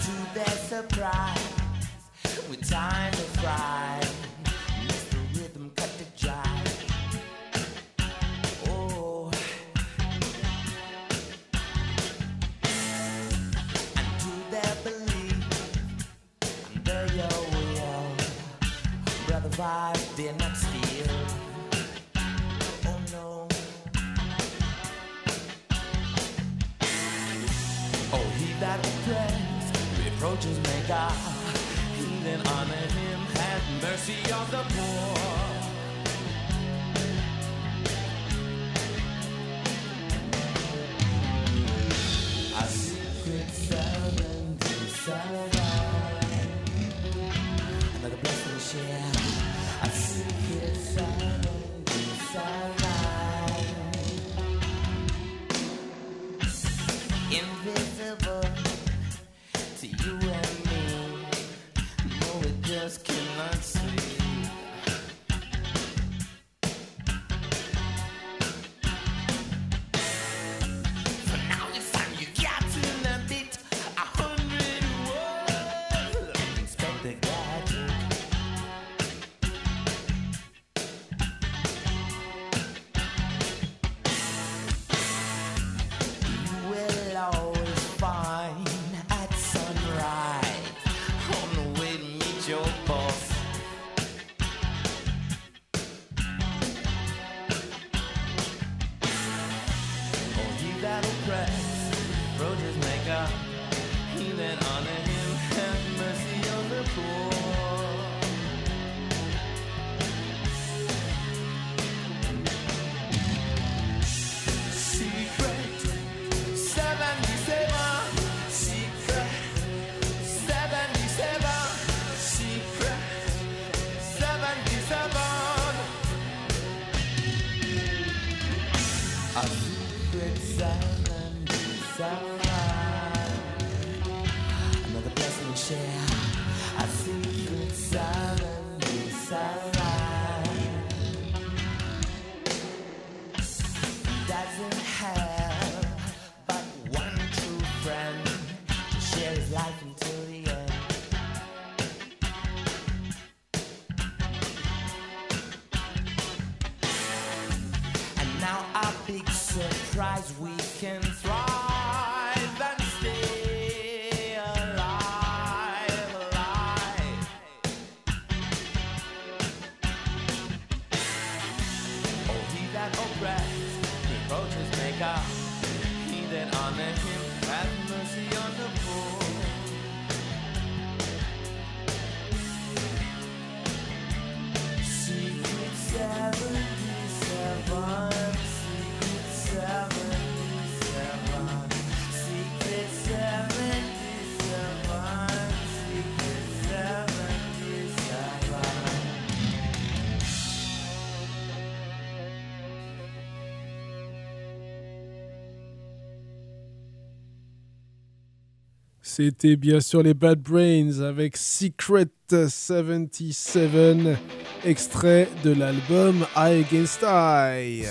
C'était bien sûr les Bad Brains avec Secret 77, extrait de l'album Eye Against Eye.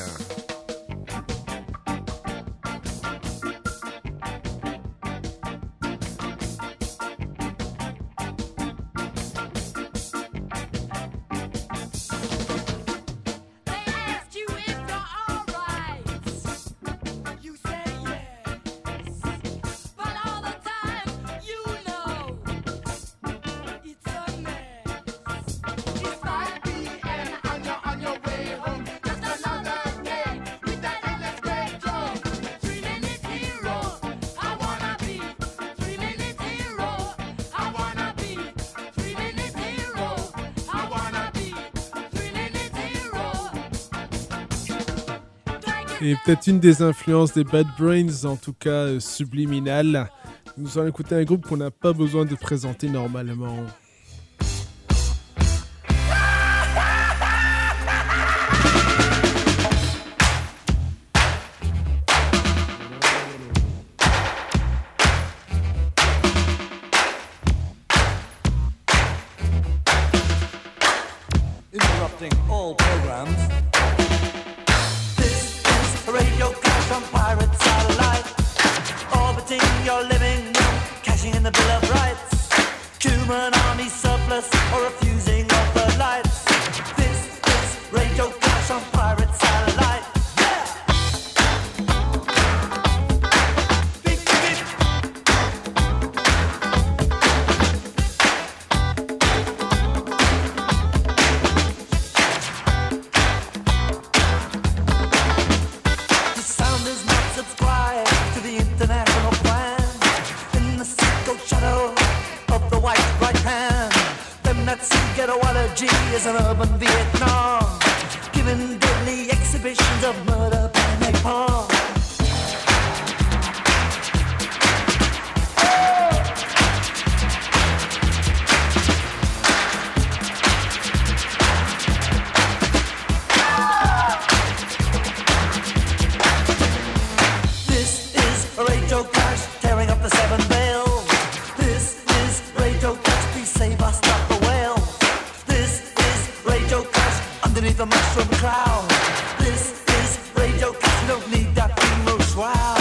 Et peut-être une des influences des Bad Brains, en tout cas subliminale. Nous allons écouter un groupe qu'on n'a pas besoin de présenter normalement. Interrupting all programs. Radio clash on pirate satellite, orbiting your living room, cashing in the Bill of Rights. shadow of the white right hand. Them that see ghetto allergy is an urban Vietnam, giving deadly exhibitions of murder by napalm. The mushroom cloud. This is Radio Clash. You don't need that funeral shroud.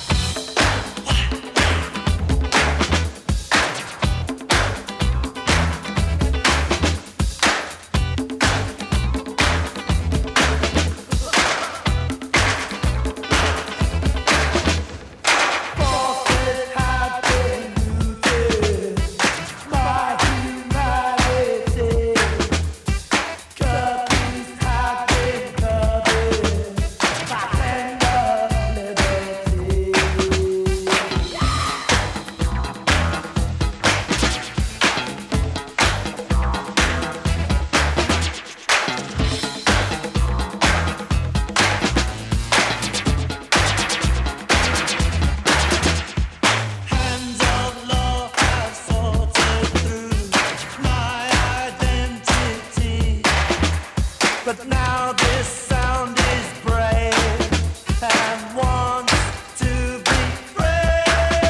But now this sound is brave and wants to be free.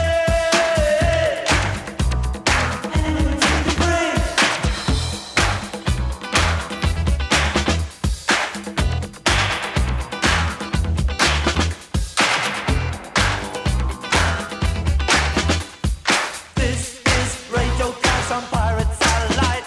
And to be free. This is Radio Clash on Pirate Satellite.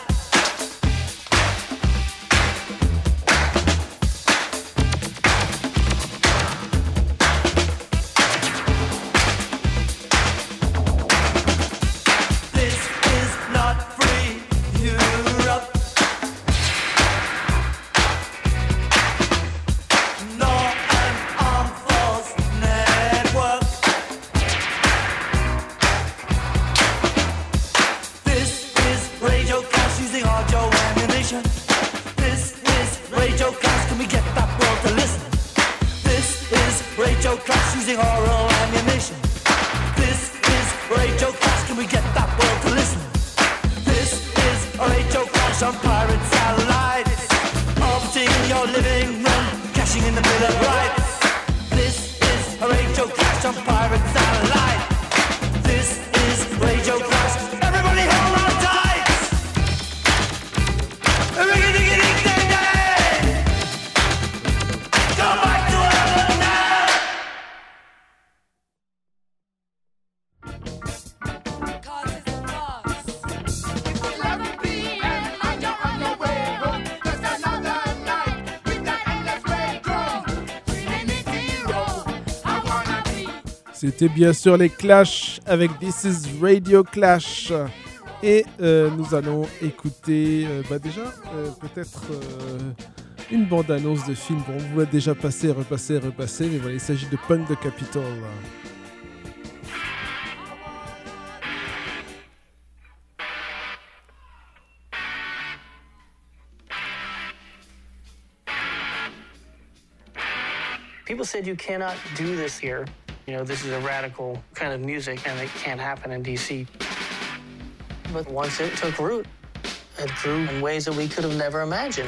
This is Radio Clash, can we get that world to listen? This is Radio Clash using oral ammunition. This is Radio Clash, can we get that world to listen? This is Radio Clash on pirate satellites, orbiting your living room, cashing in the Bill of Rights. This is Radio Clash on pirate satellite. This is Radio Clash. Everybody hold on tight! C'était bien sûr les Clash avec This is Radio Clash. Et nous allons écouter déjà peut-être une bande-annonce de film. Bon, on vous l'a déjà passé, repassé, mais voilà, il s'agit de Punk the Capitol. People said you cannot do this here. You know, this is a radical kind of music and it can't happen in DC. But once it took root, it grew in ways that we could have never imagined.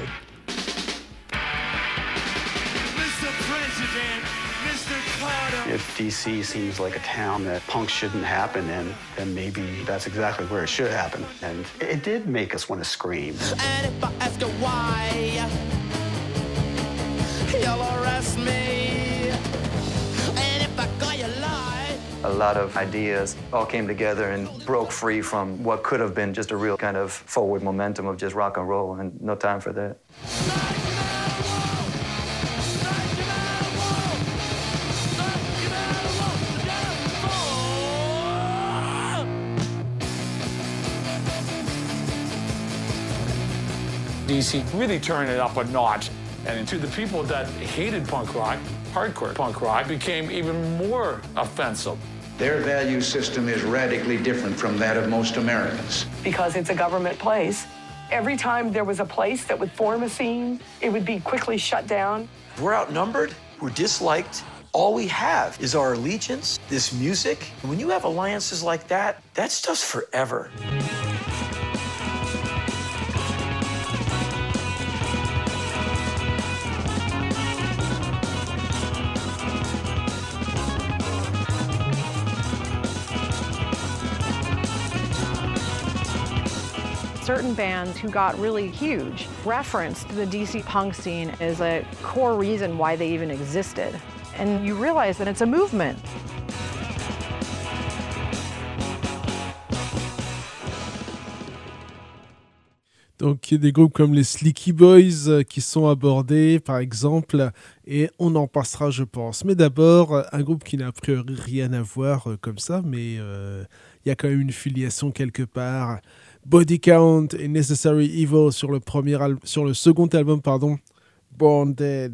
Mr. President, Mr. Carter. If DC seems like a town that punk shouldn't happen in, then maybe that's exactly where it should happen. And it did make us want to scream. And if I ask you why, you'll arrest me. And if I got you lie. A lot of ideas all came together and broke free from what could have been just a real kind of forward momentum of just rock and roll, and no time for that. DC really turned it up a notch. And to the people that hated punk rock, hardcore punk rock became even more offensive. Their value system is radically different from that of most Americans. Because it's a government place. Every time there was a place that would form a scene, it would be quickly shut down. We're outnumbered, we're disliked. All we have is our allegiance, this music. And when you have alliances like that stuff's forever. Certain bands who got really huge referenced the DC punk scene as a core reason why they even existed. And you realize that it's a movement. Donc, il y a des groupes comme les Sleeky Boys qui sont abordés, par exemple, et on en passera, je pense. Mais d'abord, un groupe qui n'a a priori rien à voir comme ça, mais il y a quand même une filiation quelque part. Body Count et Necessary Evil sur le second album, Born Dead.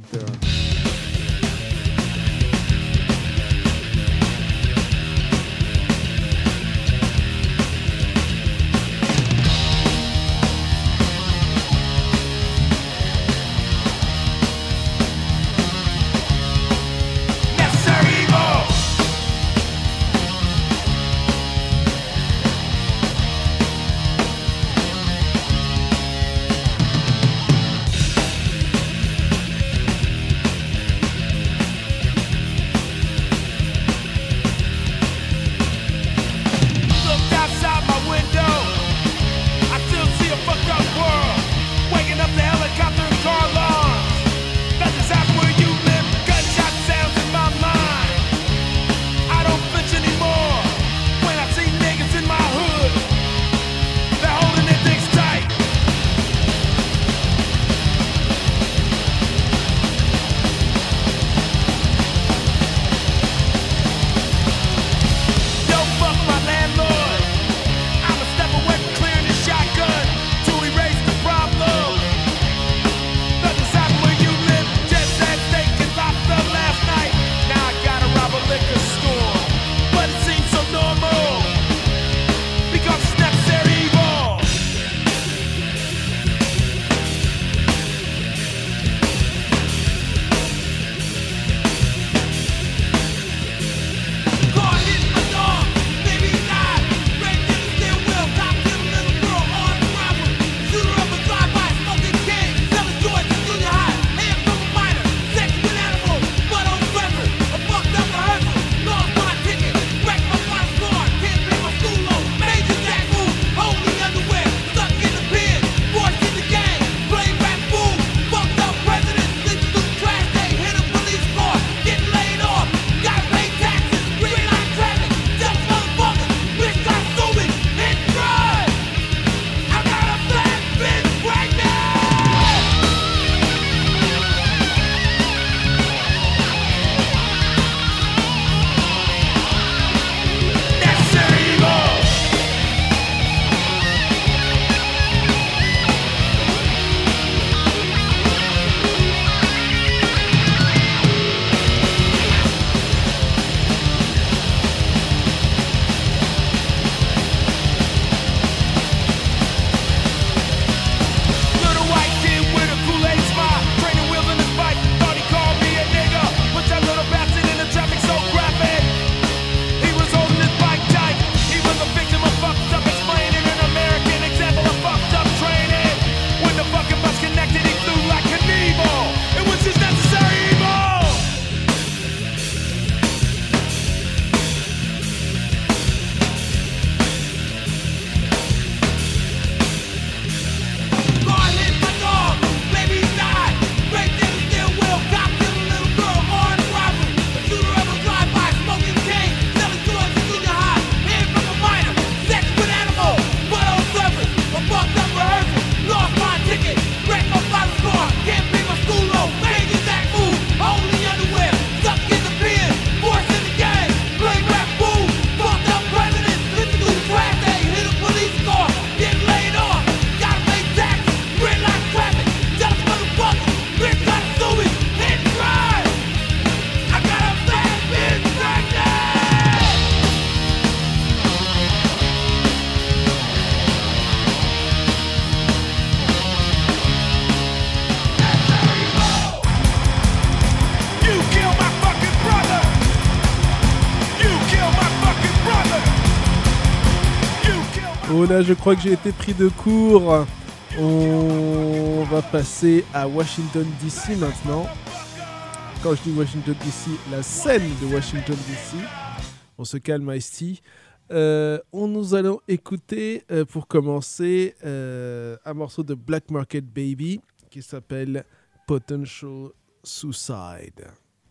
Oh là, je crois que j'ai été pris de court. On va passer à Washington DC maintenant. Quand je dis Washington DC, la scène de Washington DC. On se calme, Ice-T. Nous allons écouter, pour commencer, un morceau de Black Market Baby qui s'appelle Potential Suicide.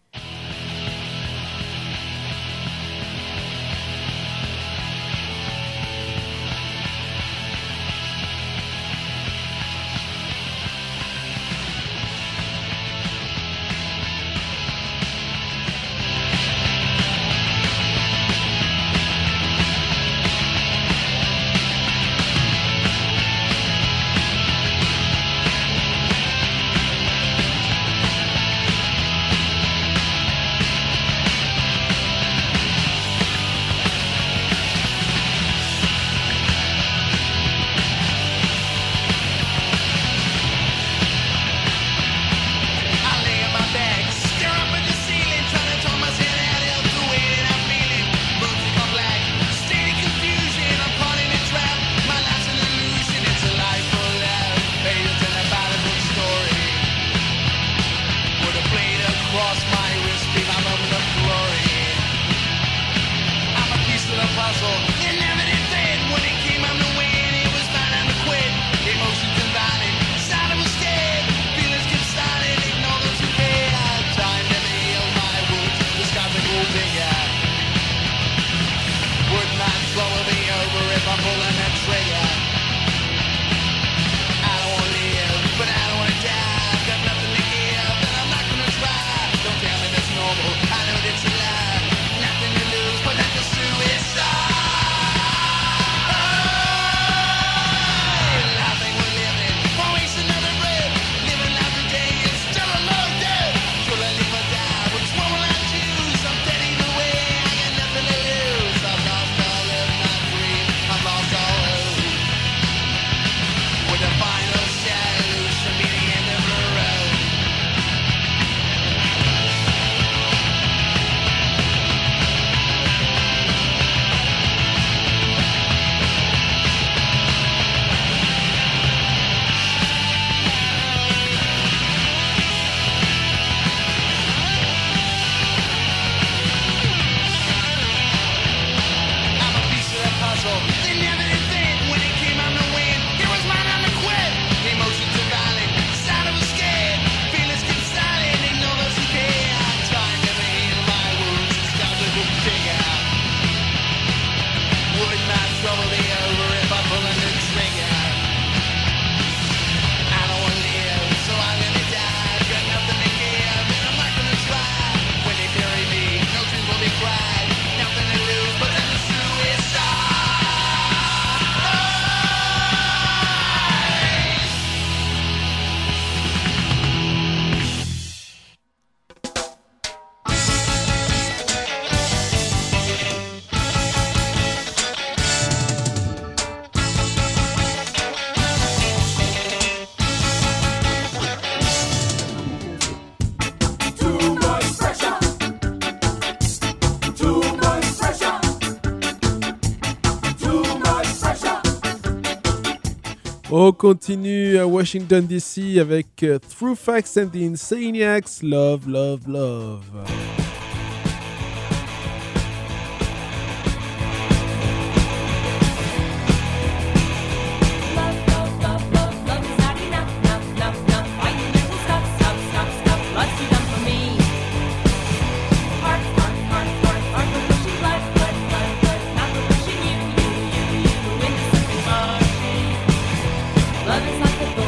On continue à Washington DC avec Through Facts and the Insaniacs, Love, Love, Love.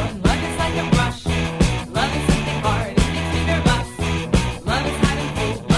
Love is something hard, it makes me nervous. Love is hiding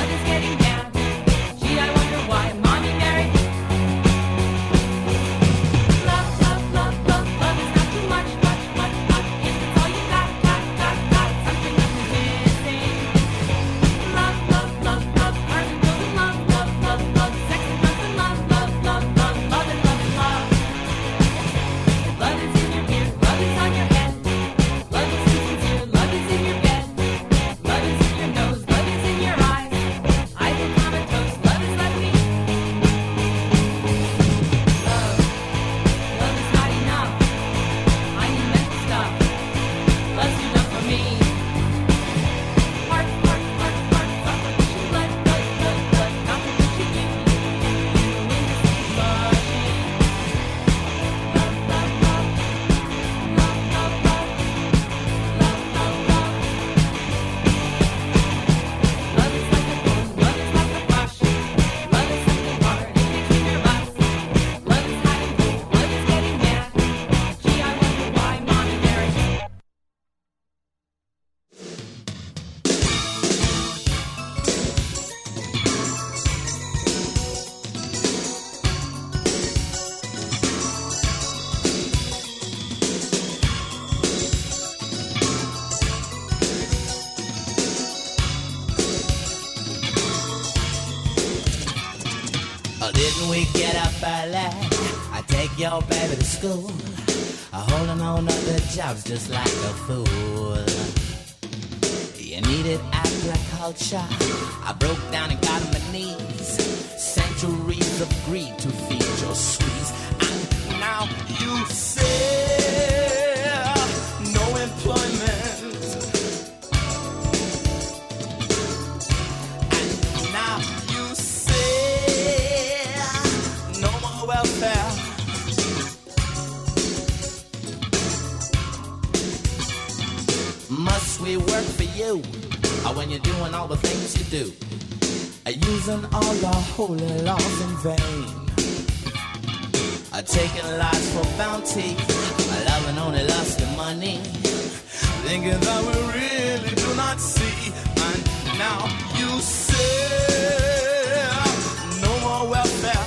we get up early, I take your baby to school, holding on to the jobs just like a fool. You needed agriculture, I broke down and got on my knees. Centuries of greed to feed your squeeze. And now you say no employment. And now you say no more welfare. Must we work for you? Or when you're doing all the things you do, using all the holy laws in vain, taking lives for bounty, loving only lust and money, thinking that we really do not see. And now you say no more welfare.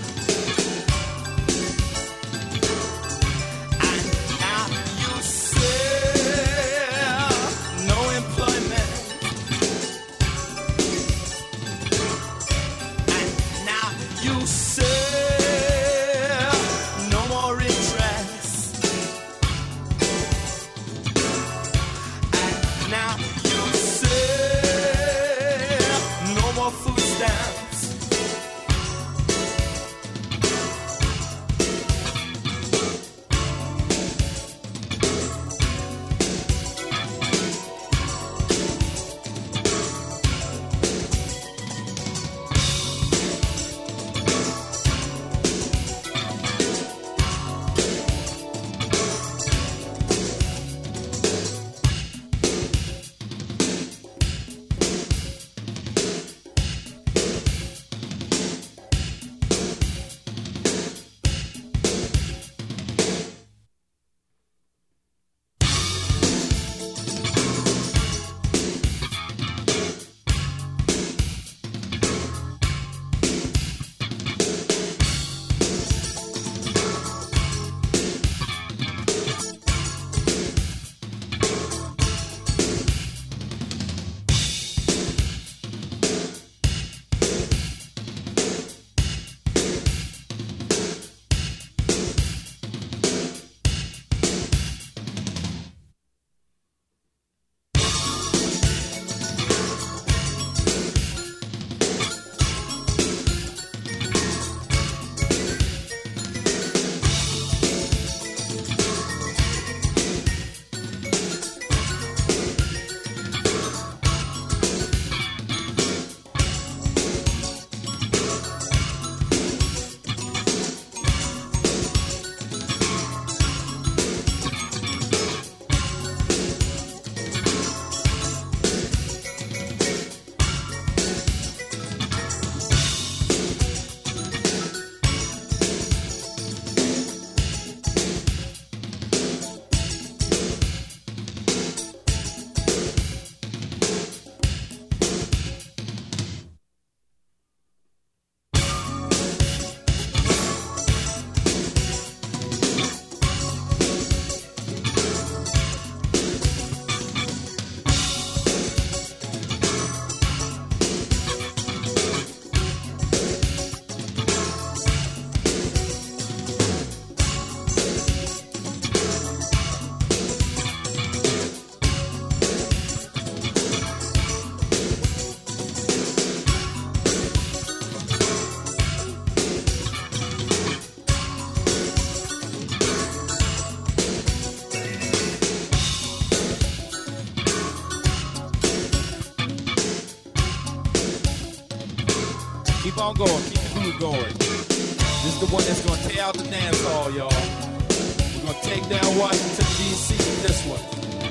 Keep on going, keep the groove going. This is the one that's gonna tear out the dance hall, y'all. We're gonna take down Washington, D.C. with this one.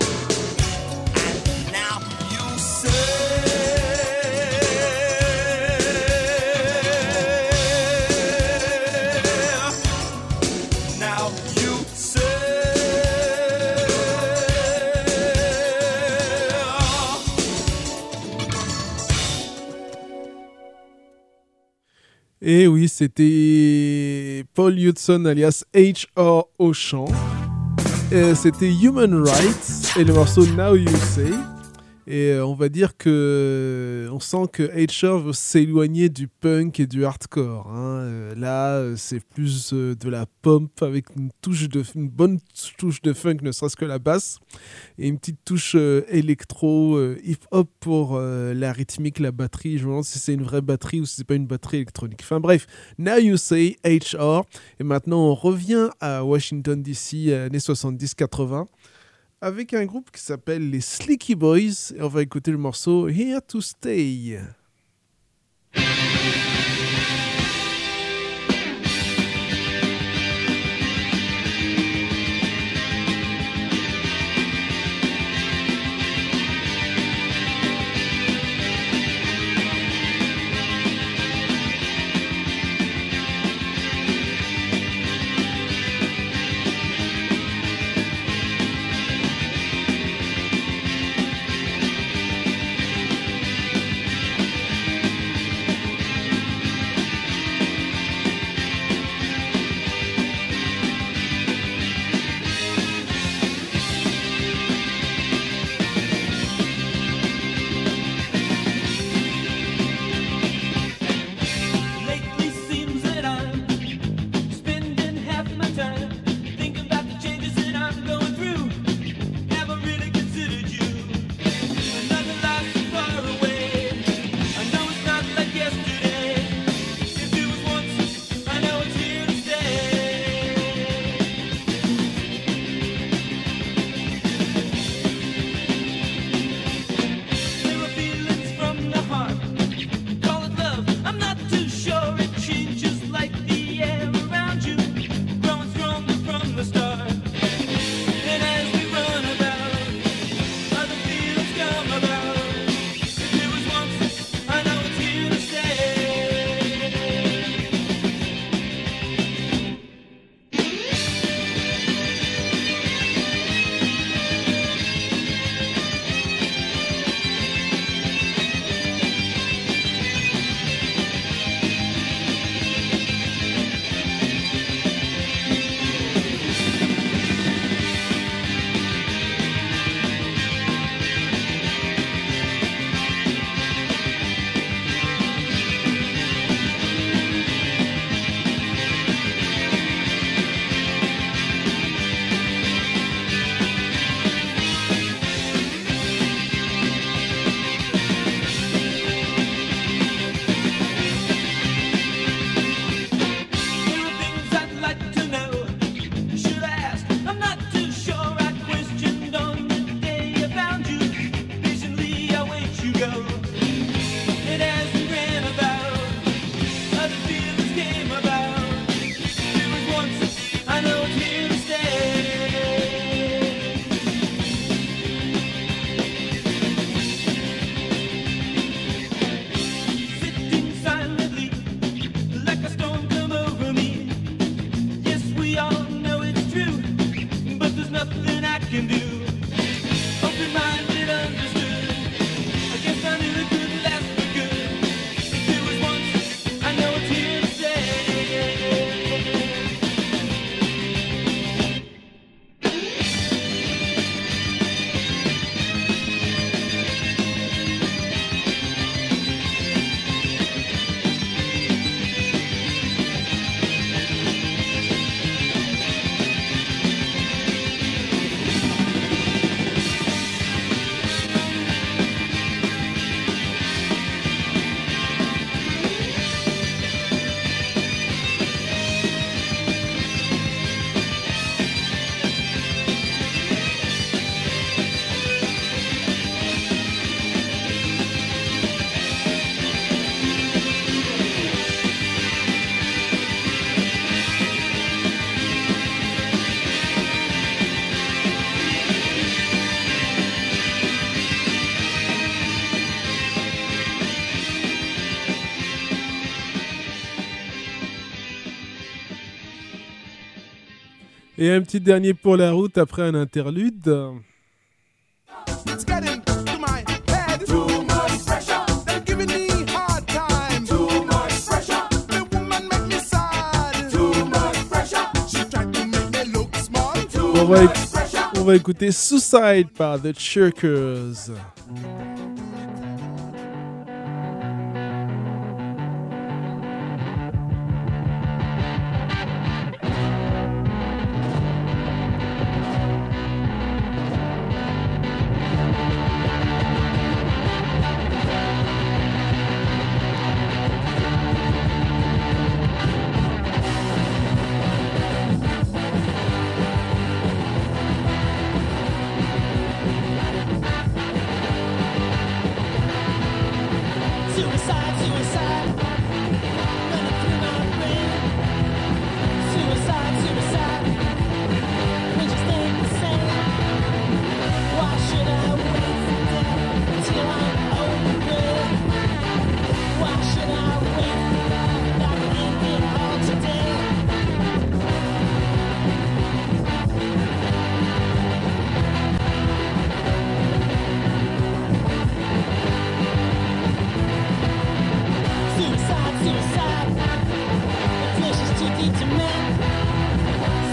And now you say Et oui, c'était Paul Hudson alias H.R. au chant. C'était Human Rights et le morceau Now You Say. Et on va dire que on sent que HR veut s'éloigner du punk et du hardcore. Là, c'est plus de la pop avec une bonne touche de funk, ne serait-ce que la basse, et une petite touche électro, hip-hop pour la rythmique, la batterie. Je me demande si c'est une vraie batterie ou si c'est pas une batterie électronique. Enfin bref, Now You Say HR. Et maintenant, on revient à Washington DC, années 70-80. Avec un groupe qui s'appelle les Sleeky Boys, et on va écouter le morceau Here to Stay. Et un petit dernier pour la route après un interlude. On va écouter Suicide par The Chirkers.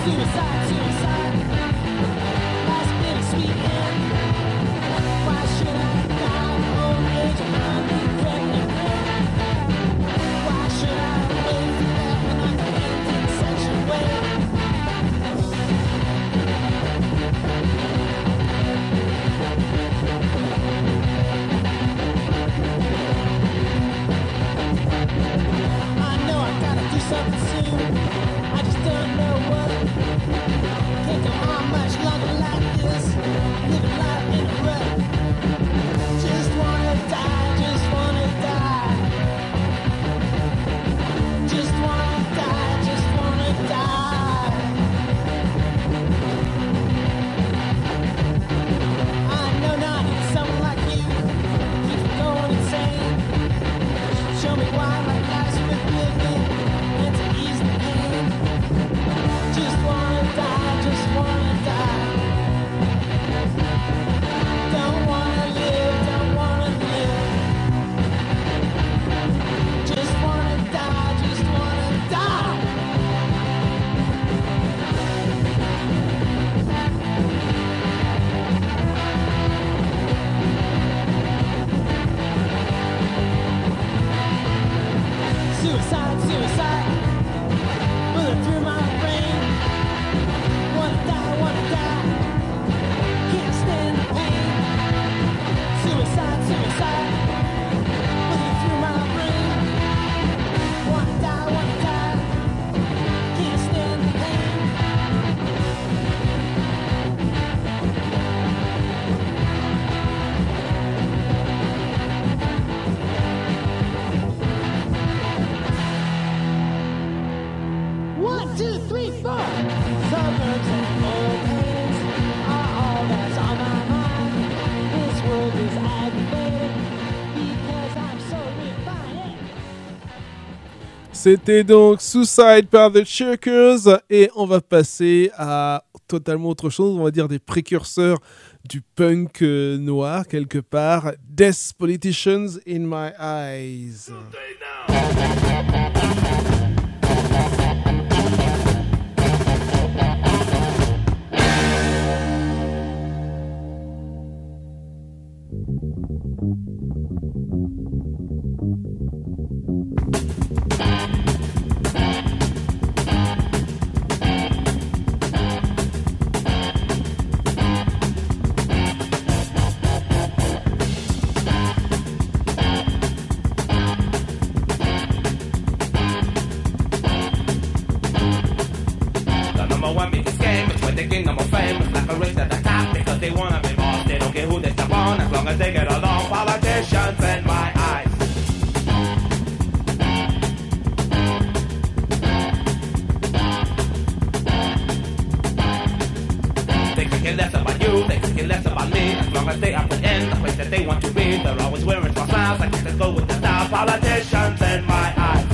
C'était donc Suicide par The Shirkers et on va passer à totalement autre chose, on va dire des précurseurs du punk noir quelque part. Death Politicians in My Eyes. They get along, politicians in my eyes. They could care less about you, they could care less about me. As long as they are put in the place that they want to be. They're always wearing false smiles, I guess they go with the style. Politicians in my eyes.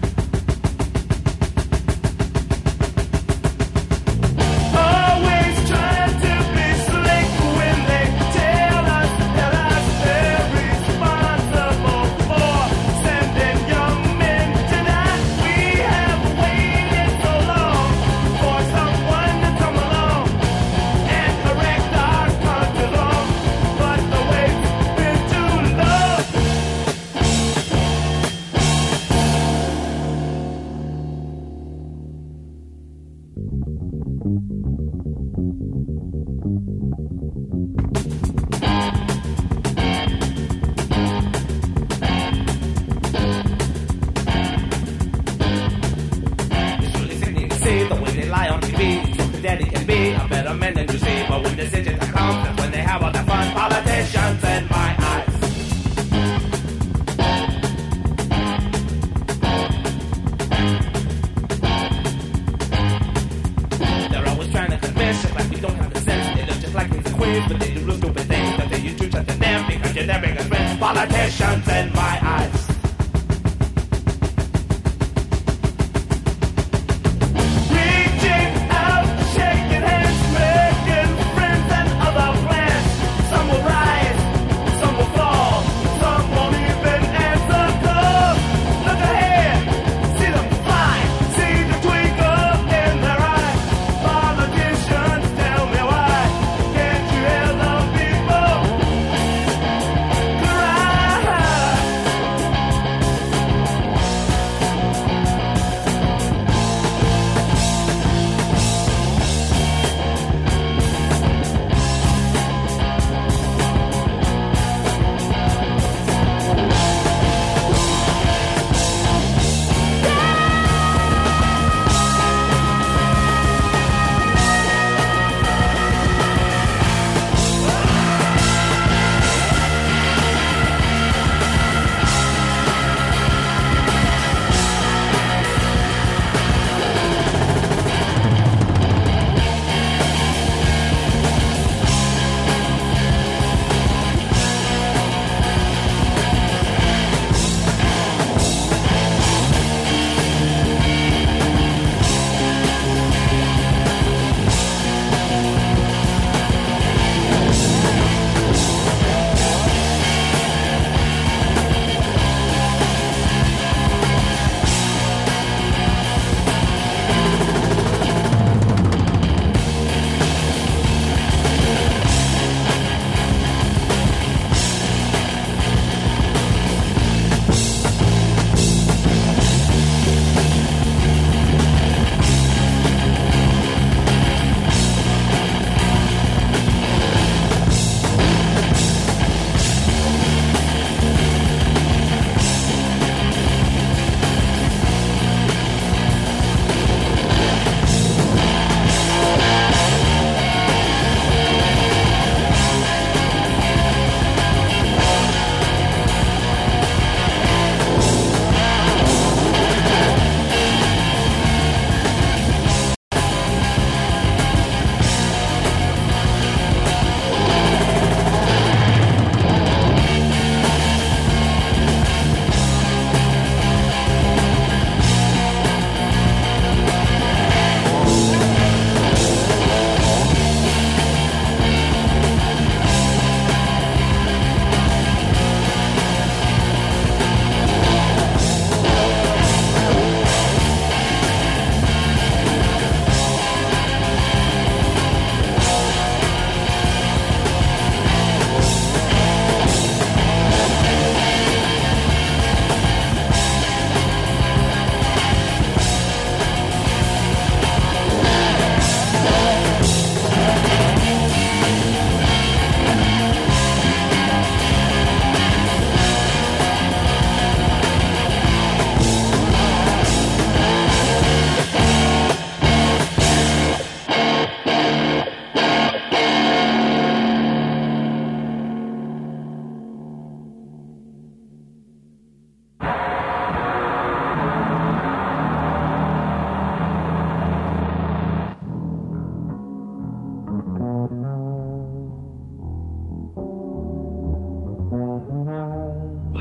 Politicians in my eyes. Reaching out, shaking hands, making friends and other plans. Some will rise, some will fall, some won't even answer calls. Look ahead, see them fly, see the twinkle in their eyes.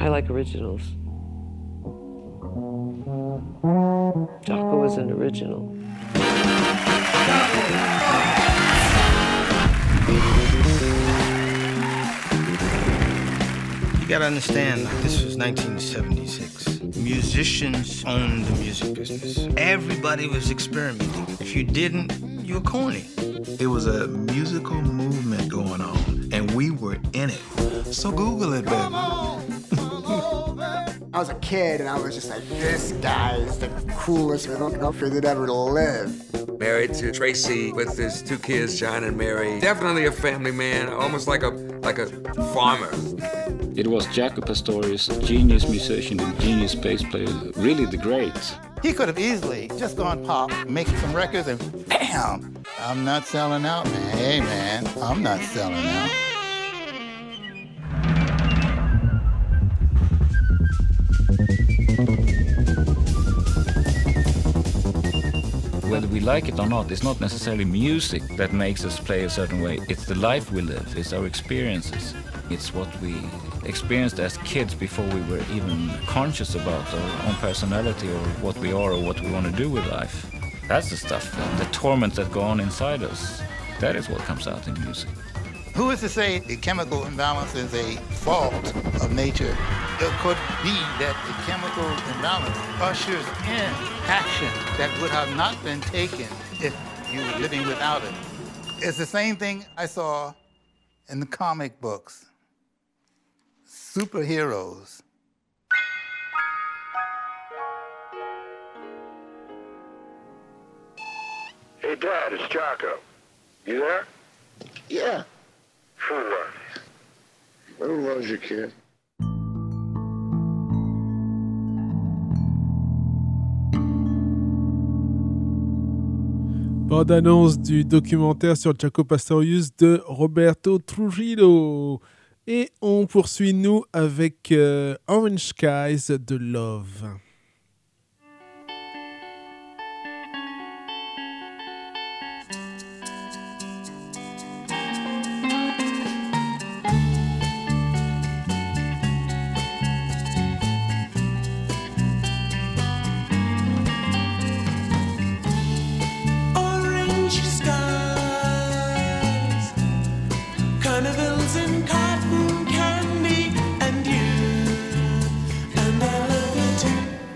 I like originals. Jaco was an original. You gotta understand, this was 1976. Musicians owned the music business. Everybody was experimenting. If you didn't, you were corny. It was a musical movement going on, and we were in it. So Google it, baby. I was a kid, and I was just like, this guy is the coolest motherfucker that ever lived. Married to Tracy with his 2 kids, John and Mary. Definitely a family man, almost like a farmer. It was Jaco Pastorius, genius musician and genius bass player, really the great. He could have easily just gone pop, making some records, and bam! I'm not selling out, man. Hey, man, I'm not selling out. Whether we like it or not, it's not necessarily music that makes us play a certain way. It's the life we live, it's our experiences. It's what we experienced as kids before we were even conscious about our own personality or what we are or what we want to do with life. That's the stuff, the torment that go on inside us. That is what comes out in music. Who is to say the chemical imbalance is a fault of nature? It could be that the chemical imbalance ushers in action that would have not been taken if you were living without it. It's the same thing I saw in the comic books. Superheroes. Hey, Dad, it's Jaco. You there? Yeah. For what? Who loves you, kid? Bande-annonce du documentaire sur Jaco Pastorius de Roberto Trujillo. Et on poursuit, nous, avec Orange Skies de Love. Carnivals and cotton candy and you, and I love you too.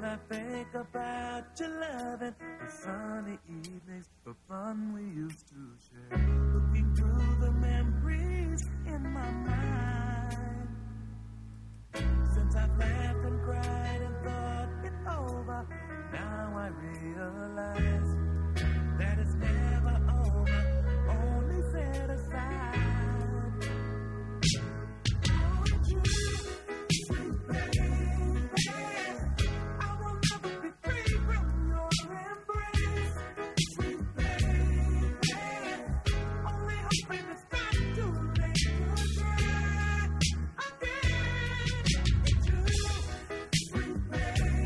When I think about your loving, the sunny evenings, the fun we used to share, looking through the memories in my mind. Since I've laughed and cried and thought it over, now I realize that it's never over, only set aside. Oh, you, sweet baby, I will never be free from your embrace. Sweet baby, only hoping it's not too late to try again. Sweet baby,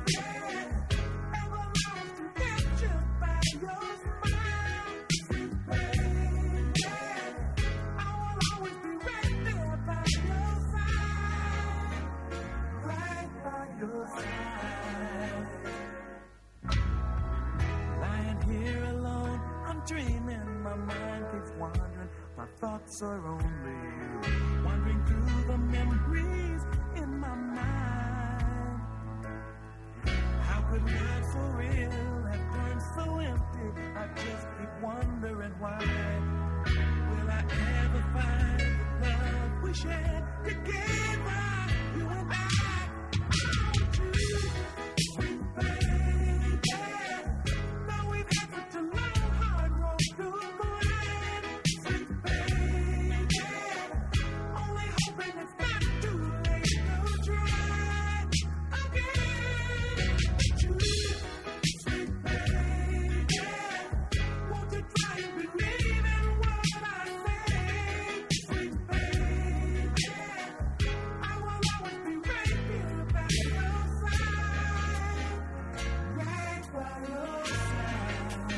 ever lost and captured by your smile. Sweet baby, I will always be right there by your side, right by your side. Lying here alone, I'm dreaming, my mind keeps wandering, my thoughts are only you, wandering through the memories in my mind. How could love so real have turned so empty? I just keep wondering why. Will I ever find the love we shared together, you and I? Sweet baby, though we've had such a long, hard road to climb. Sweet baby, only hoping it's not too late to try again. Sweet baby, won't you try and believe in what I say? Sweet baby, I will always be right here by your side, right by your side.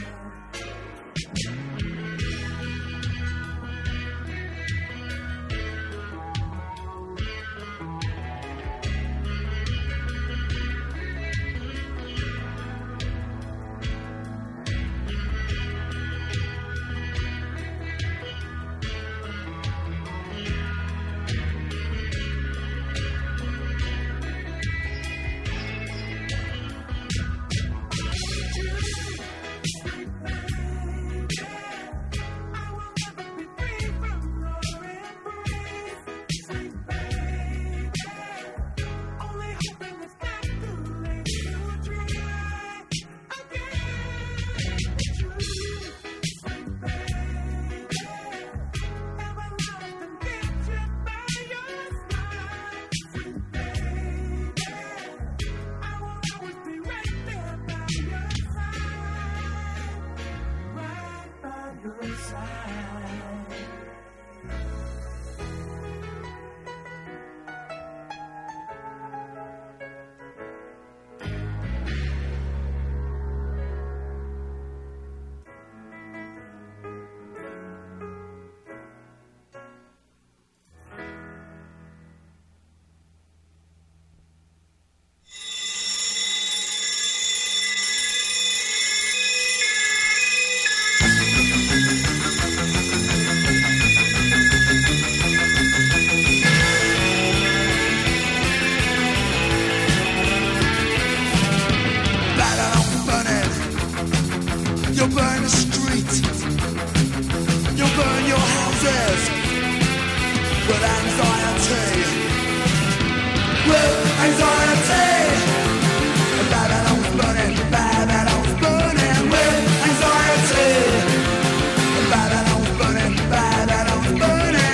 You'll burn the street, you'll burn your houses with anxiety, with anxiety. Babylon's burning, Babylon's burning with anxiety. Babylon's burning, Babylon's burning.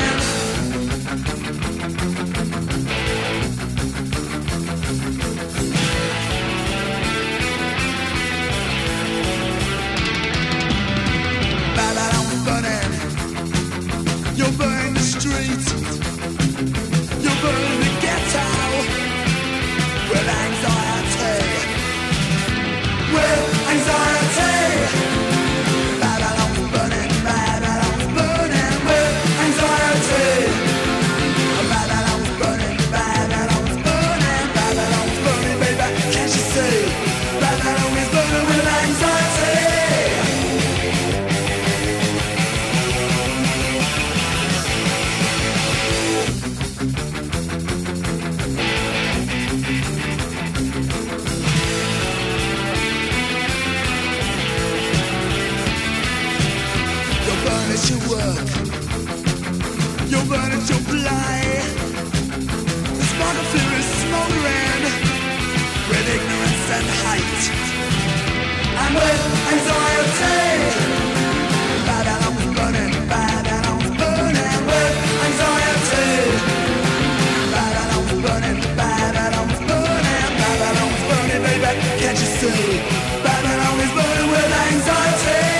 Babylon's burning. You'll burn the street, you'll burn the ghetto and hate. And with anxiety, Babylon was burning, Babylon was burning. With anxiety, Babylon was burning, Babylon was burning, Babylon was burning, baby, can't you see? Babylon is burning with anxiety.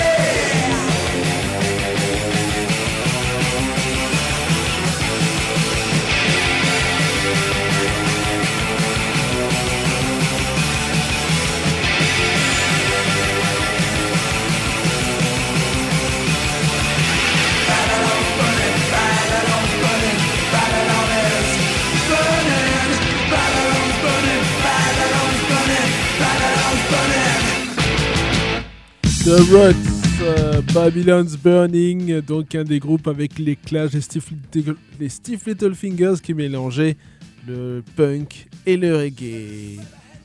The Ruts, Babylon's Burning, donc un des groupes avec les Clash, les Stiff Little Fingers qui mélangeaient le punk et le reggae.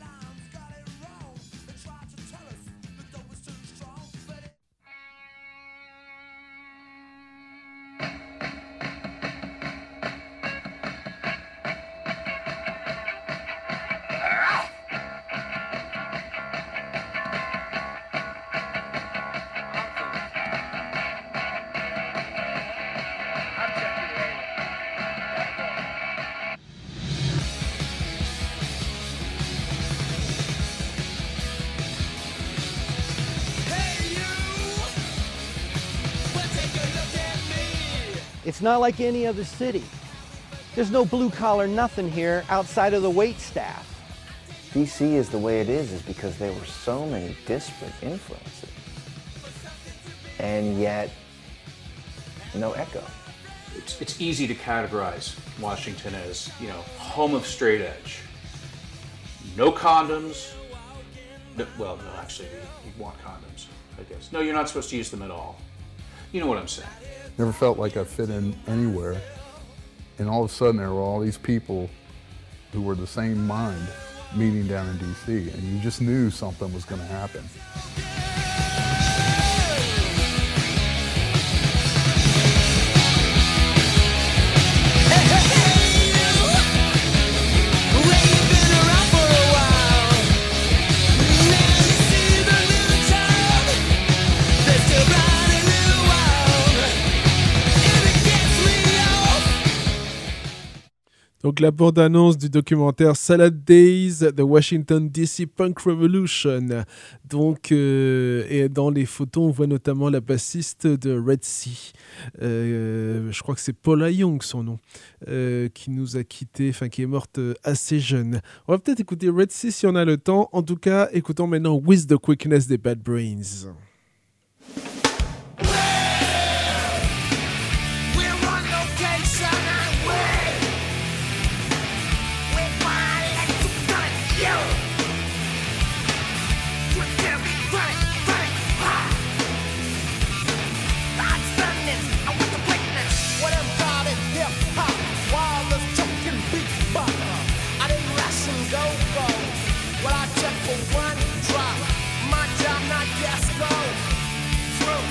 It's not like any other city. There's no blue collar nothing here outside of the wait staff. DC is the way it is because there were so many disparate influences. And yet, no echo. It's easy to categorize Washington as, you know, home of straight edge. No condoms. Well, no, actually, you want condoms, I guess. No, you're not supposed to use them at all. You know what I'm saying. Never felt like I fit in anywhere. And all of a sudden there were all these people who were the same mind meeting down in DC, and you just knew something was going to happen. Donc la bande-annonce du documentaire Salad Days, The Washington DC Punk Revolution. Donc, et dans les photos, on voit notamment la bassiste de Red Sea. Je crois que c'est Paula Young, son nom, qui nous a quittés, enfin qui est morte assez jeune. On va peut-être écouter Red Sea si on a le temps. En tout cas, écoutons maintenant With the Quickness des Bad Brains. Well, I check for one drop. My job, not gas, go through.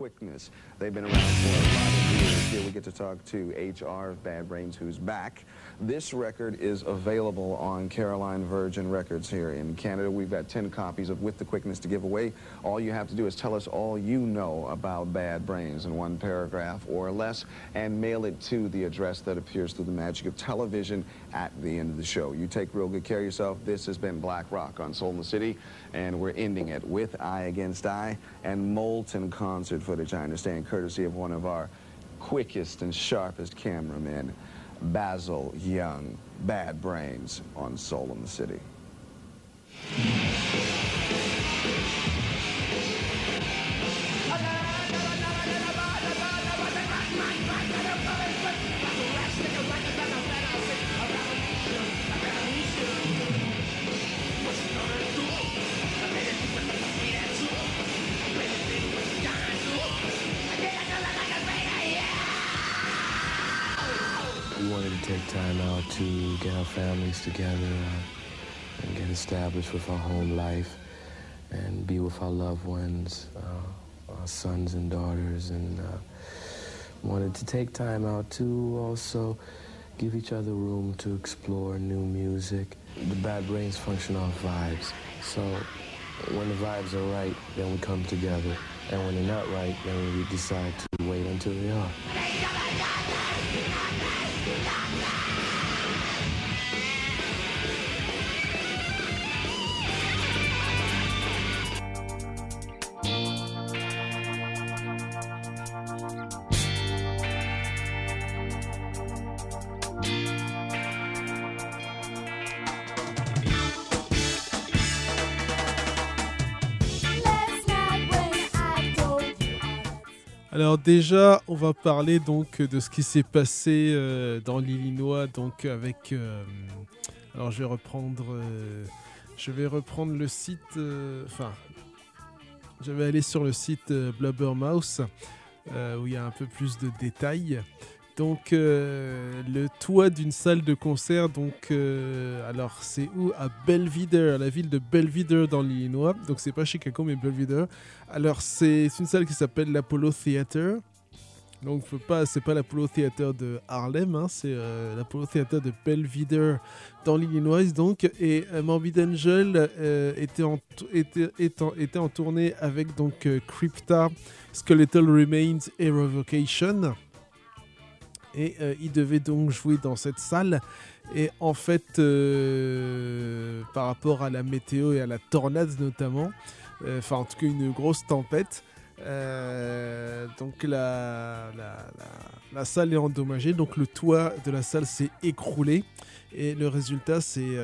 quickness. They've been around for a lot of years. Here we get to talk to HR of Bad Brains, who's back. This record is available on Caroline Virgin Records here in Canada. We've got 10 copies of With the Quickness to give away. All you have to do is tell us all you know about Bad Brains in one paragraph or less and mail it to the address that appears through the magic of television at the end of the show. You take real good care of yourself. This has been Black Rock on Soul in the City, and we're ending it with Eye Against Eye and molten concert footage, I understand, courtesy of one of our quickest and sharpest cameramen, Basil Young. Bad Brains on Soul in the City. We wanted to take time out to get our families together and get established with our home life and be with our loved ones, our sons and daughters, and wanted to take time out to also give each other room to explore new music. The Bad Brains function off vibes. So when the vibes are right, then we come together. And when they're not right, then we decide to wait until they are. Alors déjà, on va parler donc de ce qui s'est passé dans l'Illinois, donc avec. Alors je vais reprendre le site. Je vais aller sur le site Blubbermouth où il y a un peu plus de détails. Donc le toit d'une salle de concert, donc alors c'est où? À Belvidere, à la ville de Belvidere dans l'Illinois. Donc c'est pas Chicago mais Belvidere. Alors c'est une salle qui s'appelle l'Apollo Theater. Donc c'est pas l'Apollo Theater de Harlem, hein, c'est l'Apollo Theater de Belvidere dans l'Illinois. Donc et Morbid Angel était en tournée avec donc Crypta, Skeletal Remains et Revocation. Et il devait donc jouer dans cette salle. Et en fait, par rapport à la météo et à la tornade notamment, en tout cas une grosse tempête, donc la salle est endommagée. Donc le toit de la salle s'est écroulé. Et le résultat, c'est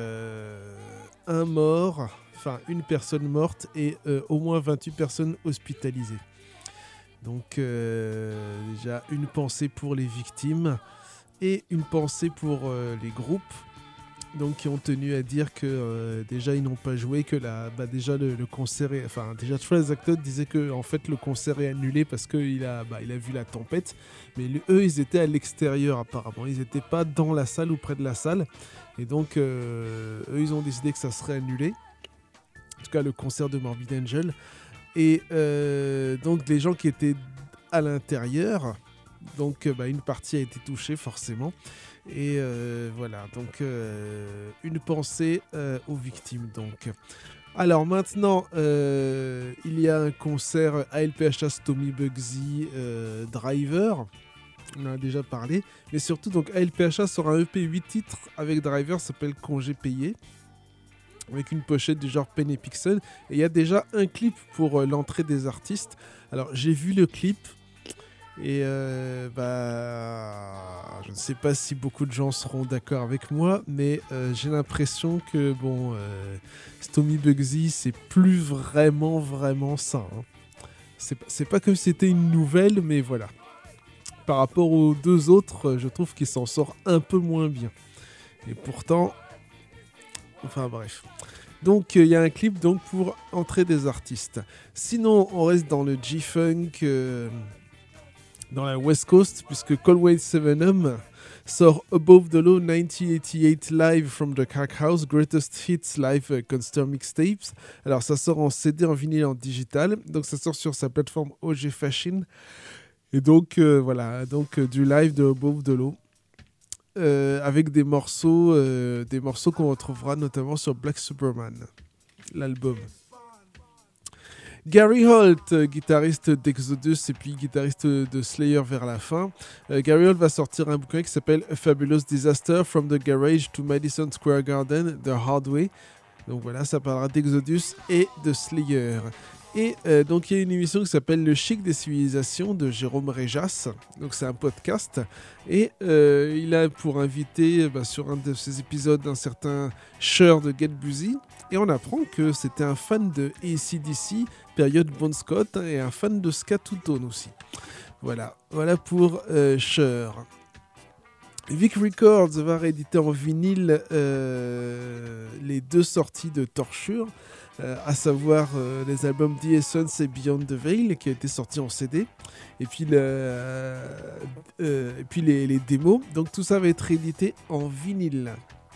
une personne morte et au moins 28 personnes hospitalisées. Donc déjà une pensée pour les victimes et une pensée pour les groupes donc, qui ont tenu à dire que déjà ils n'ont pas joué, que déjà le concert est, déjà Travis Acton disait que en fait le concert est annulé parce qu'il a vu la tempête, mais eux ils étaient à l'extérieur apparemment, ils n'étaient pas dans la salle ou près de la salle et donc eux ils ont décidé que ça serait annulé, en tout cas le concert de Morbid Angel. Et donc les gens qui étaient à l'intérieur, donc une partie a été touchée forcément. Et voilà, donc une pensée aux victimes. Donc. Alors maintenant, il y a un concert ALPHA, Stomy Bugsy, Driver. On en a déjà parlé. Mais surtout, donc ALPHA sort un EP 8 titres avec Driver, ça s'appelle Congé payé, avec une pochette du genre Pen et Pixel. Et il y a déjà un clip pour l'entrée des artistes. Alors, j'ai vu le clip. Et je ne sais pas si beaucoup de gens seront d'accord avec moi, mais j'ai l'impression que, Stomy Bugsy, c'est plus vraiment ça. Hein. C'est pas comme si c'était une nouvelle, mais voilà. Par rapport aux deux autres, je trouve qu'il s'en sort un peu moins bien. Et pourtant... Enfin bref. Donc il y a un clip donc, pour entrer des artistes. Sinon, on reste dans le G-Funk, dans la West Coast, puisque Coldwell 7'em sort Above the Law 1988 Live from the Crack House, Greatest Hits Live Concert Mixtapes. Alors ça sort en CD, en vinyle et en digital. Donc ça sort sur sa plateforme OG Fashion. Et donc voilà, donc du live de Above the Law. Avec des morceaux qu'on retrouvera notamment sur Black Superman, l'album. Gary Holt, guitariste d'Exodus et puis guitariste de Slayer vers la fin. Gary Holt va sortir un bouquin qui s'appelle A Fabulous Disaster from the Garage to Madison Square Garden, The Hard Way. Donc voilà, ça parlera d'Exodus et de Slayer. Et donc il y a une émission qui s'appelle Le Chic des Civilisations de Jérôme Réjas. Donc c'est un podcast. Et il a pour invité sur un de ses épisodes un certain Cher de Get Busy. Et on apprend que c'était un fan de AC/DC, période Bon Scott, et un fan de Ska Two Tone aussi. Voilà pour Cher. Vic Records va rééditer en vinyle les deux sorties de Torture, à savoir les albums The Essence et Beyond the Veil, qui a été sorti en CD, et puis les démos. Donc tout ça va être réédité en vinyle.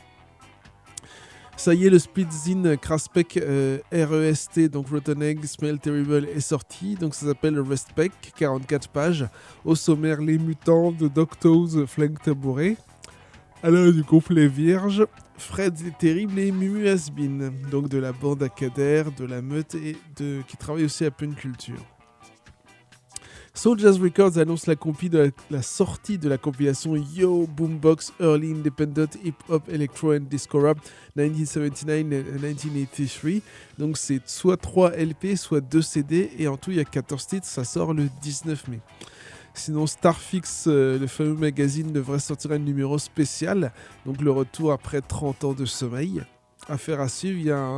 Ça y est, le split zine Craspec REST, donc Rotten Egg, Smell Terrible, est sorti. Donc ça s'appelle Respect, 44 pages. Au sommaire, les mutants de Docto's Flank Tabouret. Alors du complet vierge, Fred est terrible et Mumu Hasbin. Donc de la bande à Kader, de la meute et qui travaille aussi à Punk Culture. Soul Jazz Records annonce la sortie de la compilation Yo Boombox Early Independent Hip Hop Electro and Disco Rap 1979 and 1983. Donc c'est soit 3 LP, soit 2 CD, et en tout il y a 14 titres, ça sort le 19 mai. Sinon Starfix, le fameux magazine, devrait sortir un numéro spécial, donc le retour après 30 ans de sommeil. Affaire à suivre, il y a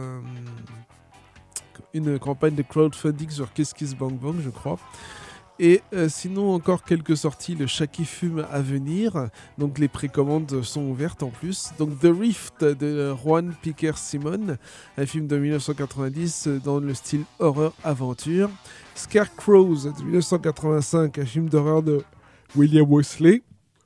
une campagne de crowdfunding sur Kiss Kiss Bang Bang, je crois. Et sinon, encore quelques sorties, le Chat qui fume à venir. Donc les précommandes sont ouvertes en plus. Donc The Rift de Juan Piquer Simon, un film de 1990 dans le style horreur-aventure. Scarecrows de 1985, un film d'horreur de William Wesley.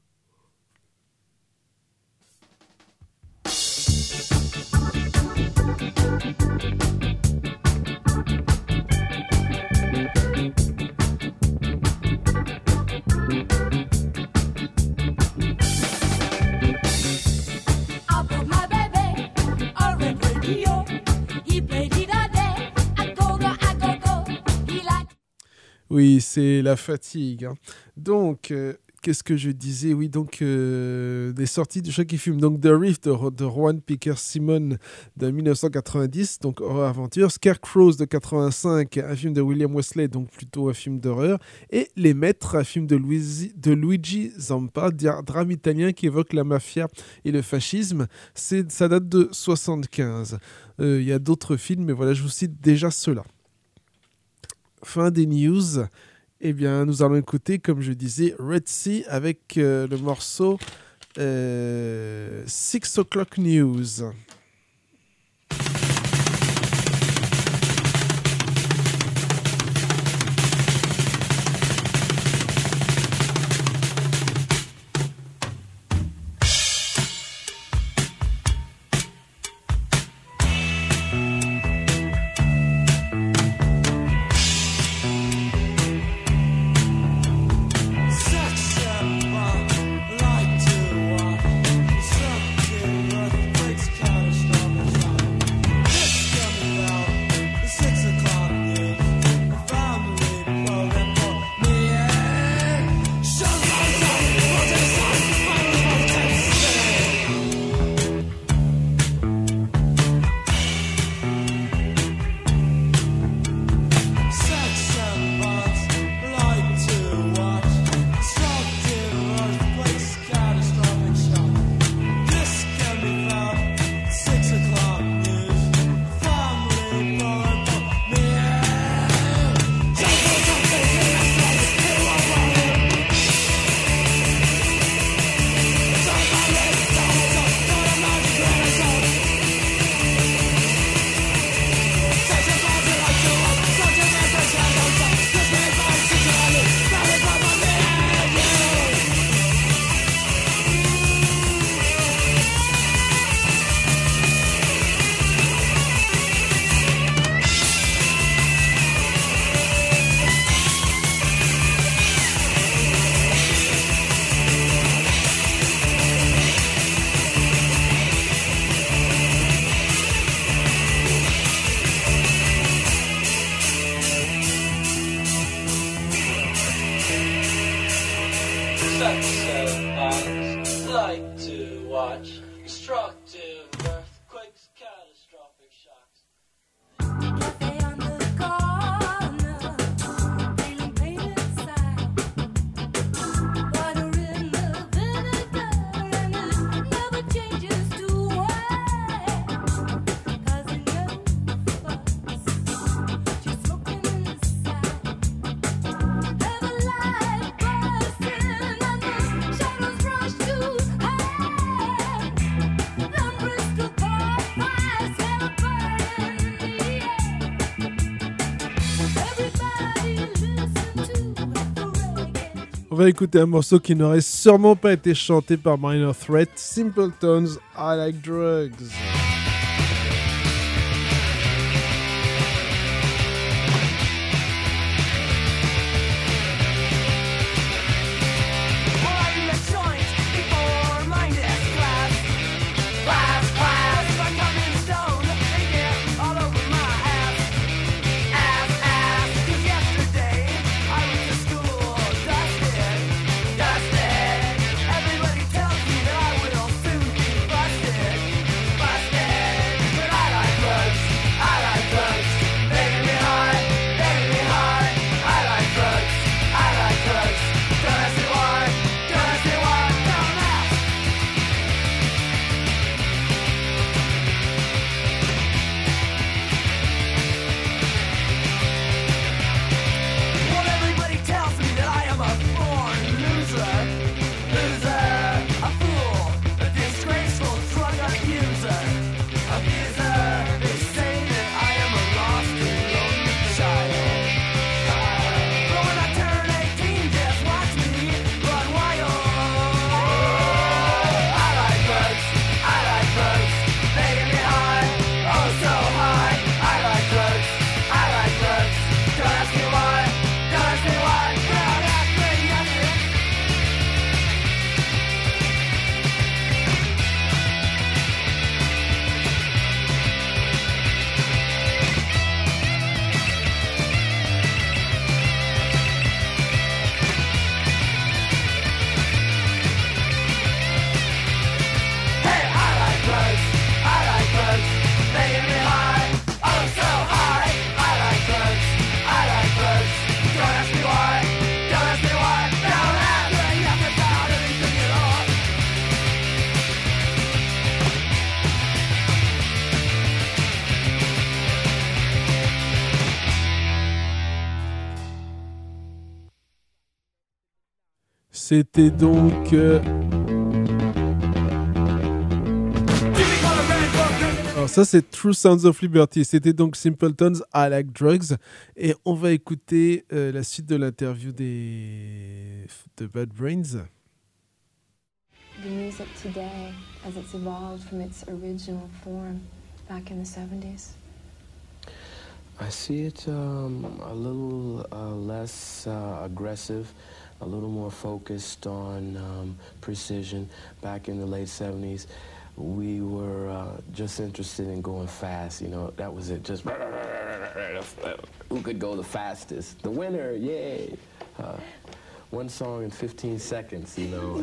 Oui, c'est la fatigue. Hein. Donc, qu'est-ce que je disais ? Oui, donc, des sorties de Chat qui fume. Donc, The Rift de Juan Piquer Simon de 1990, donc horreur aventure. Scarecrows de 85, un film de William Wesley, donc plutôt un film d'horreur. Et Les Maîtres, un film de Luigi Zampa, drame italien qui évoque la mafia et le fascisme. Ça date de 75. Il y a d'autres films, mais voilà, je vous cite déjà ceux-là. Fin des news. Eh bien, nous allons écouter, comme je disais, Red Sea avec le morceau 6 O'Clock News. Light to watch, something earthquakes come. On va écouter un morceau qui n'aurait sûrement pas été chanté par Minor Threat, Simple Tones, I Like Drugs. C'était donc... Alors ça c'est True Sounds of Liberty. C'était donc Simple Tones, I Like Drugs. Et on va écouter la suite de l'interview de Bad Brains. The music today, as it's evolved from its original form back in the 70s? I see it a little less aggressive, a little more focused on precision. Back in the late 70s, we were just interested in going fast. You know, that was it. Just who could go the fastest? The winner, yay! One song in 15 seconds, you know.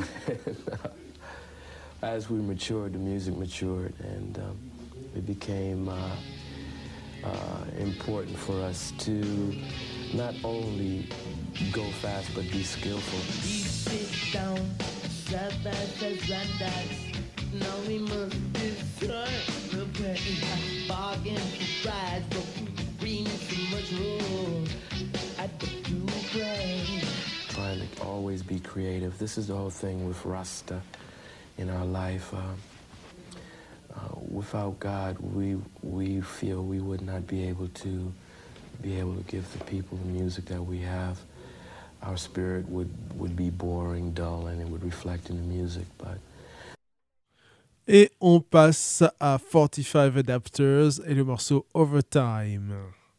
As we matured, the music matured, and it became important for us to not only go fast, but be skillful. We sit down, side by side, now we must decide. We're bargain for prize, but we bring too much room at the blue plane. Trying to always be creative. This is the whole thing with Rasta in our life. Without God, we feel we would not be able to give the people the music that we have. Our spirit would be boring, dull, and it would reflect in the music. But et on passe à 45 Adapters et le morceau Overtime.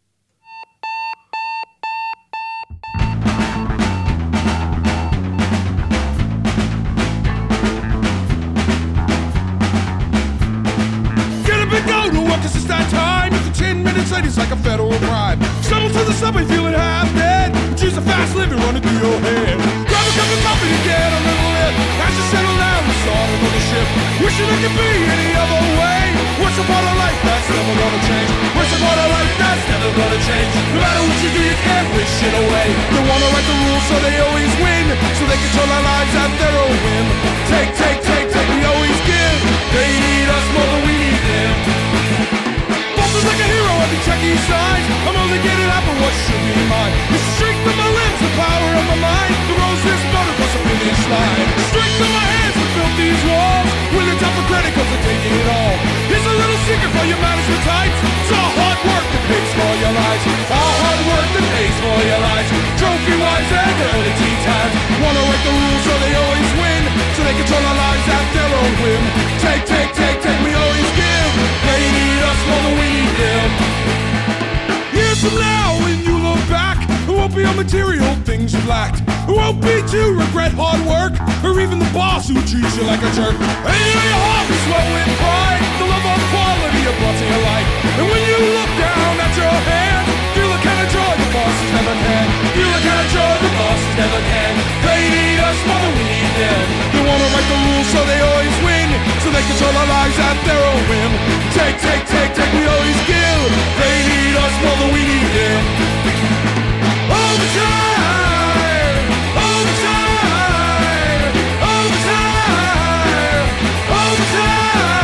Go to work, 'cause it's that time. It's 10 minutes late, it's like a federal crime. Stumble through the subway feeling half dead. Choose a fast living running through your head. Grab a cup of coffee to get a little lift. As you settle down and start another shift. Wishing it could be any other way. What's a part of life that's never gonna change? What's a part of life that's never gonna change? No matter what you do, you can't wish it away. They wanna write the rules so they always win. So they control our lives at their own whim. Take, we always give. They need us more than we need them. Like a hero, I be checking signs. I'm only getting out for what should be mine. The strength of my limbs, the power of my mind. The rose this motor across the finish line. The strength of my hands that built these walls. With a top of credit, 'cause I'm taking it all. Here's a little secret for your management types. It's all hard work that pays for your lives. All hard work that pays for your lives. Trophy-wise and early tea times. Wanna control our lives at their own whim. Take, we always give. They need us more than we need them. Years from now, when you look back, it won't be on material things you lacked. It won't be to regret hard work, or even the boss who treats you like a jerk. And you know your heart will swell with pride, the love of quality you brought to your life. And when you look down at your hand, feel the kind of joy the bosses never can. Feel the kind of joy the bosses never can. They need us more than we need them. They wanna write the rules so they always win, so they control our lives at their own whim. Take, we always give. They need us more than we need them. Overtime, overtime, overtime, overtime.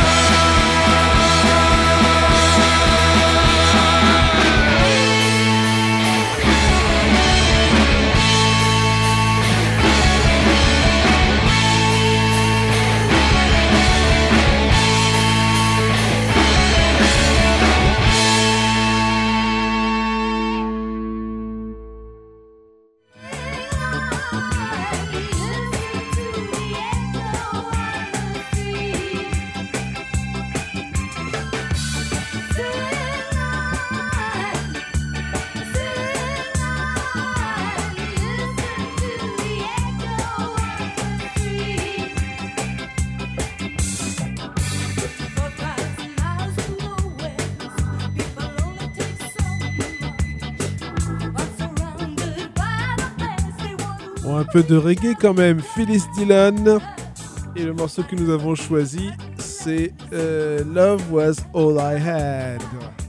Bon, un peu de reggae quand même, Phyllis Dillon. Et le morceau que nous avons choisi, c'est Love Was All I Had.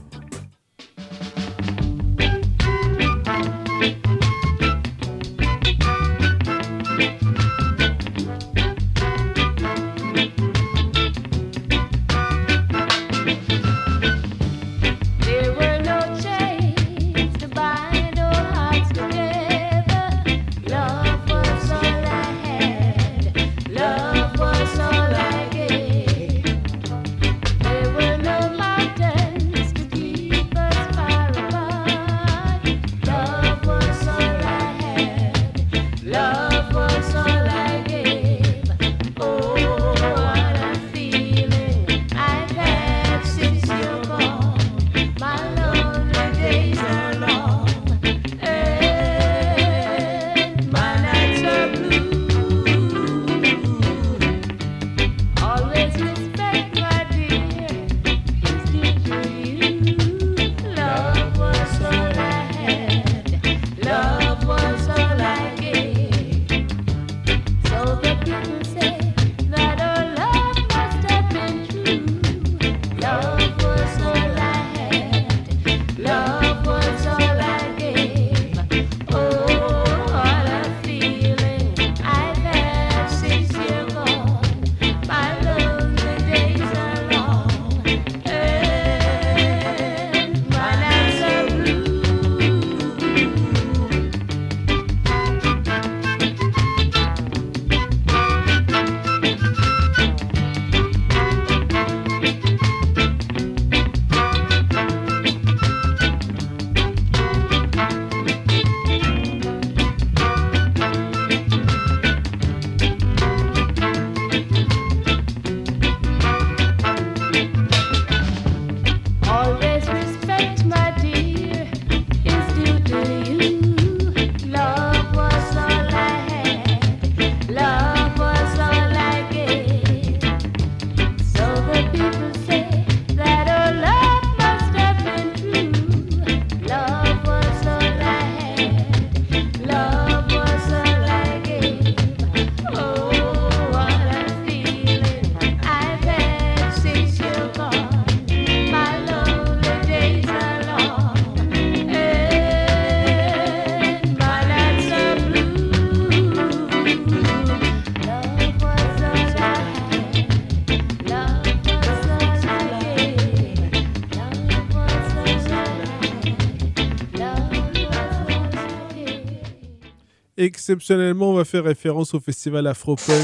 Exceptionnellement, on va faire référence au festival Afropunk.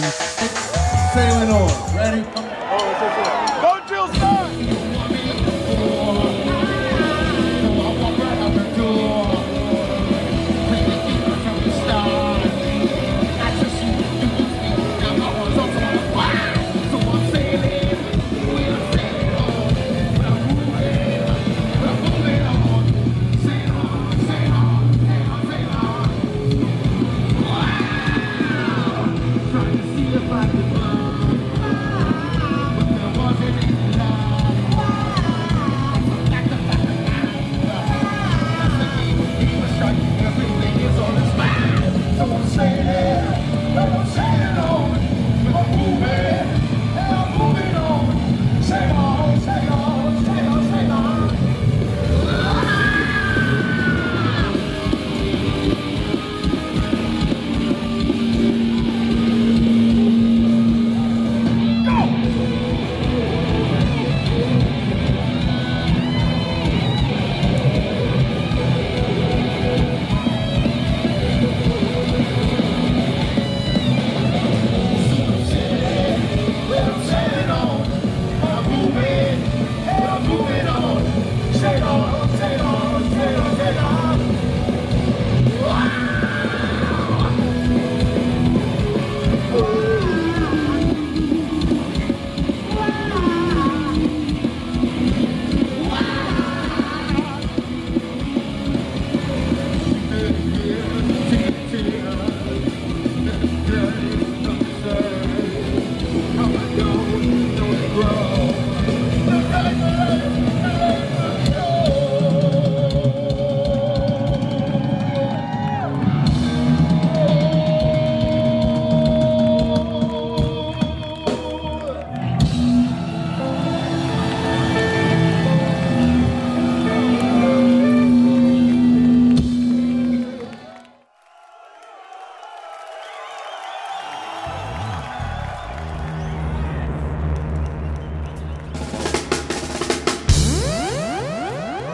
Sailing on. Ready? Go, Jill, start!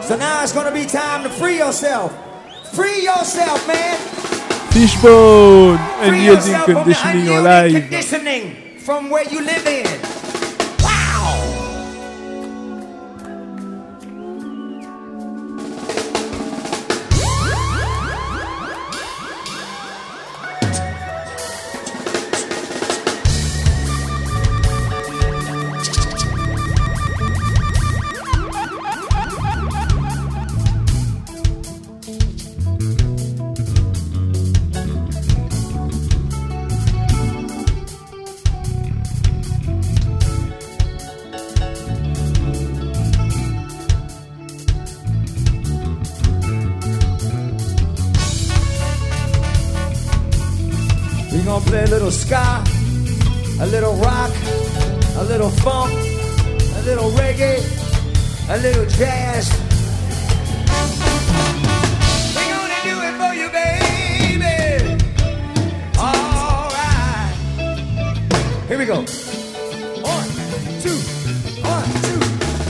So now it's gonna be time to free yourself. Free yourself, man. Fishbone, Free unyielding yourself from the conditioning en unyielding live. conditioning from where you live in. Wow. We're gonna play a little ska, a little rock, a little funk, a little reggae, a little jazz. We're gonna do it for you, baby. All right. Here we go. 1, 2, 1, 2.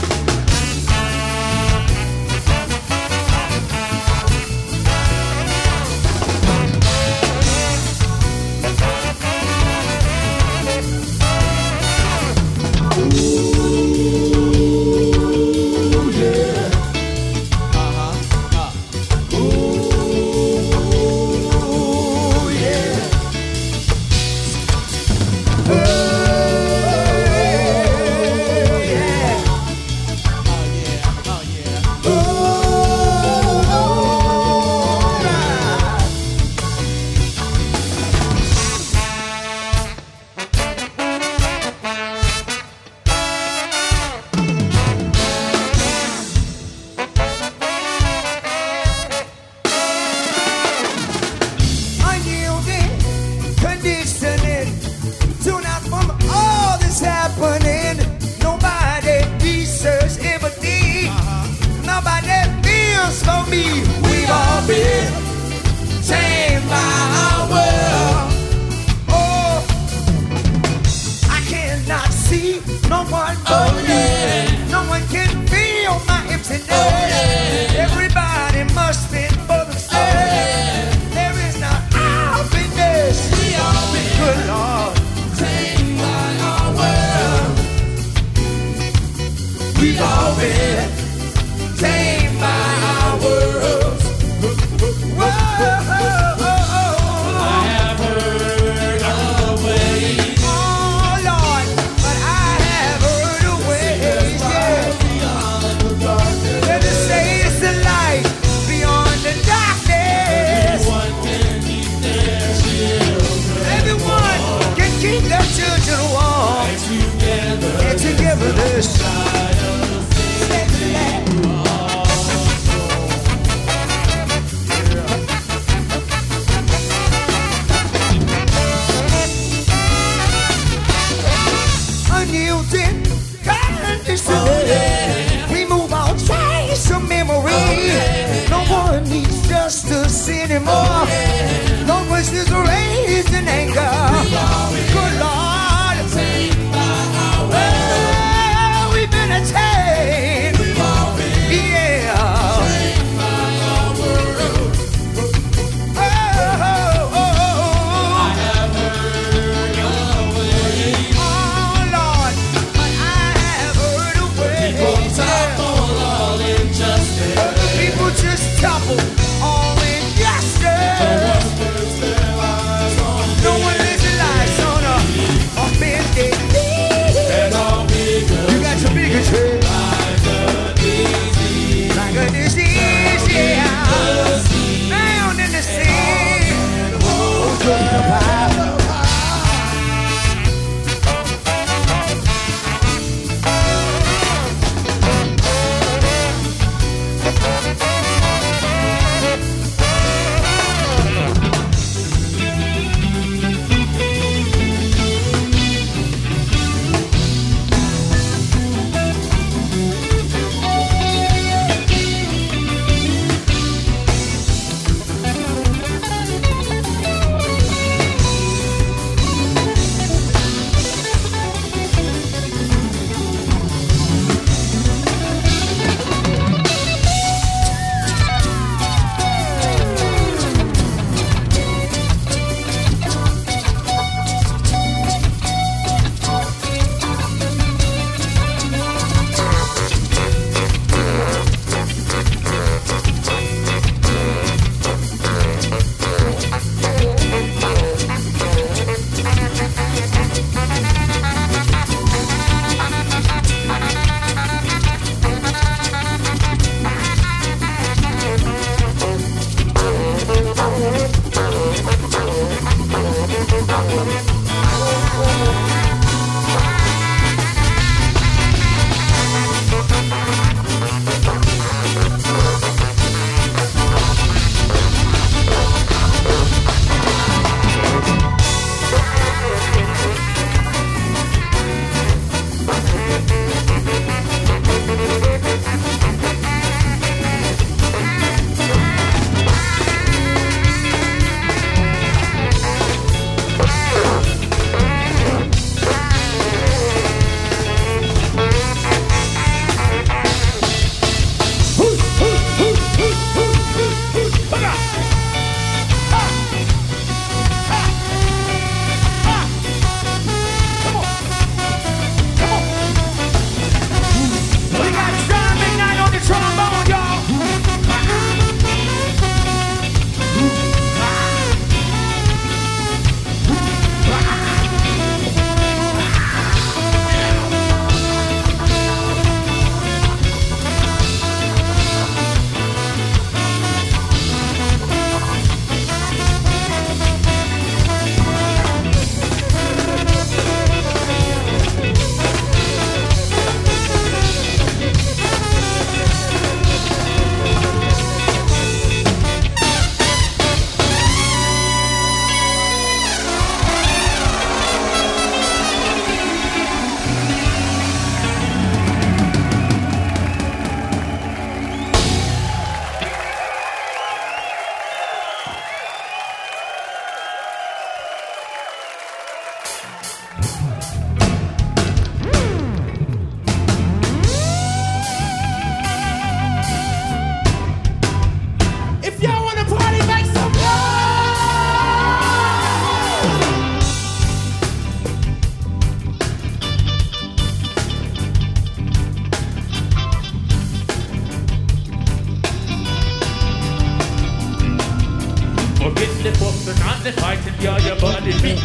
We move on, chase of memory. No one needs justice anymore. No voices raised in anger. Good Lord, well, we've been attained. Yeah. Topple all injustice. No one lives a life on a bended knee. You got your bigotry like a disease, yeah. Found in the sea. Oh,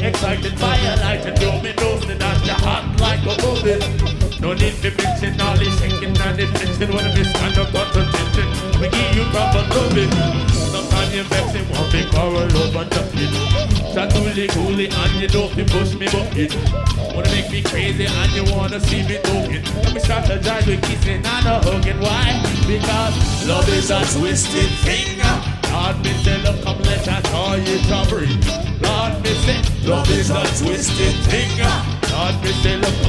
excited by a light and you me know that you're hot like a oven. No need to mixing all this shaking and this mixing when we stand up got attention. We give you proper loving. Sometimes you vex him want me quarrel over nothing. Shot coolie and you don't be push me bucket. Wanna make me crazy and you wanna see me talking. Let me strategize with kissing and a hugging. Why? Because love is a twisted thing. Lord, me say, look, come let us call you to breathe. Lord, me say, love is a twisted thing. Lord, me say, look,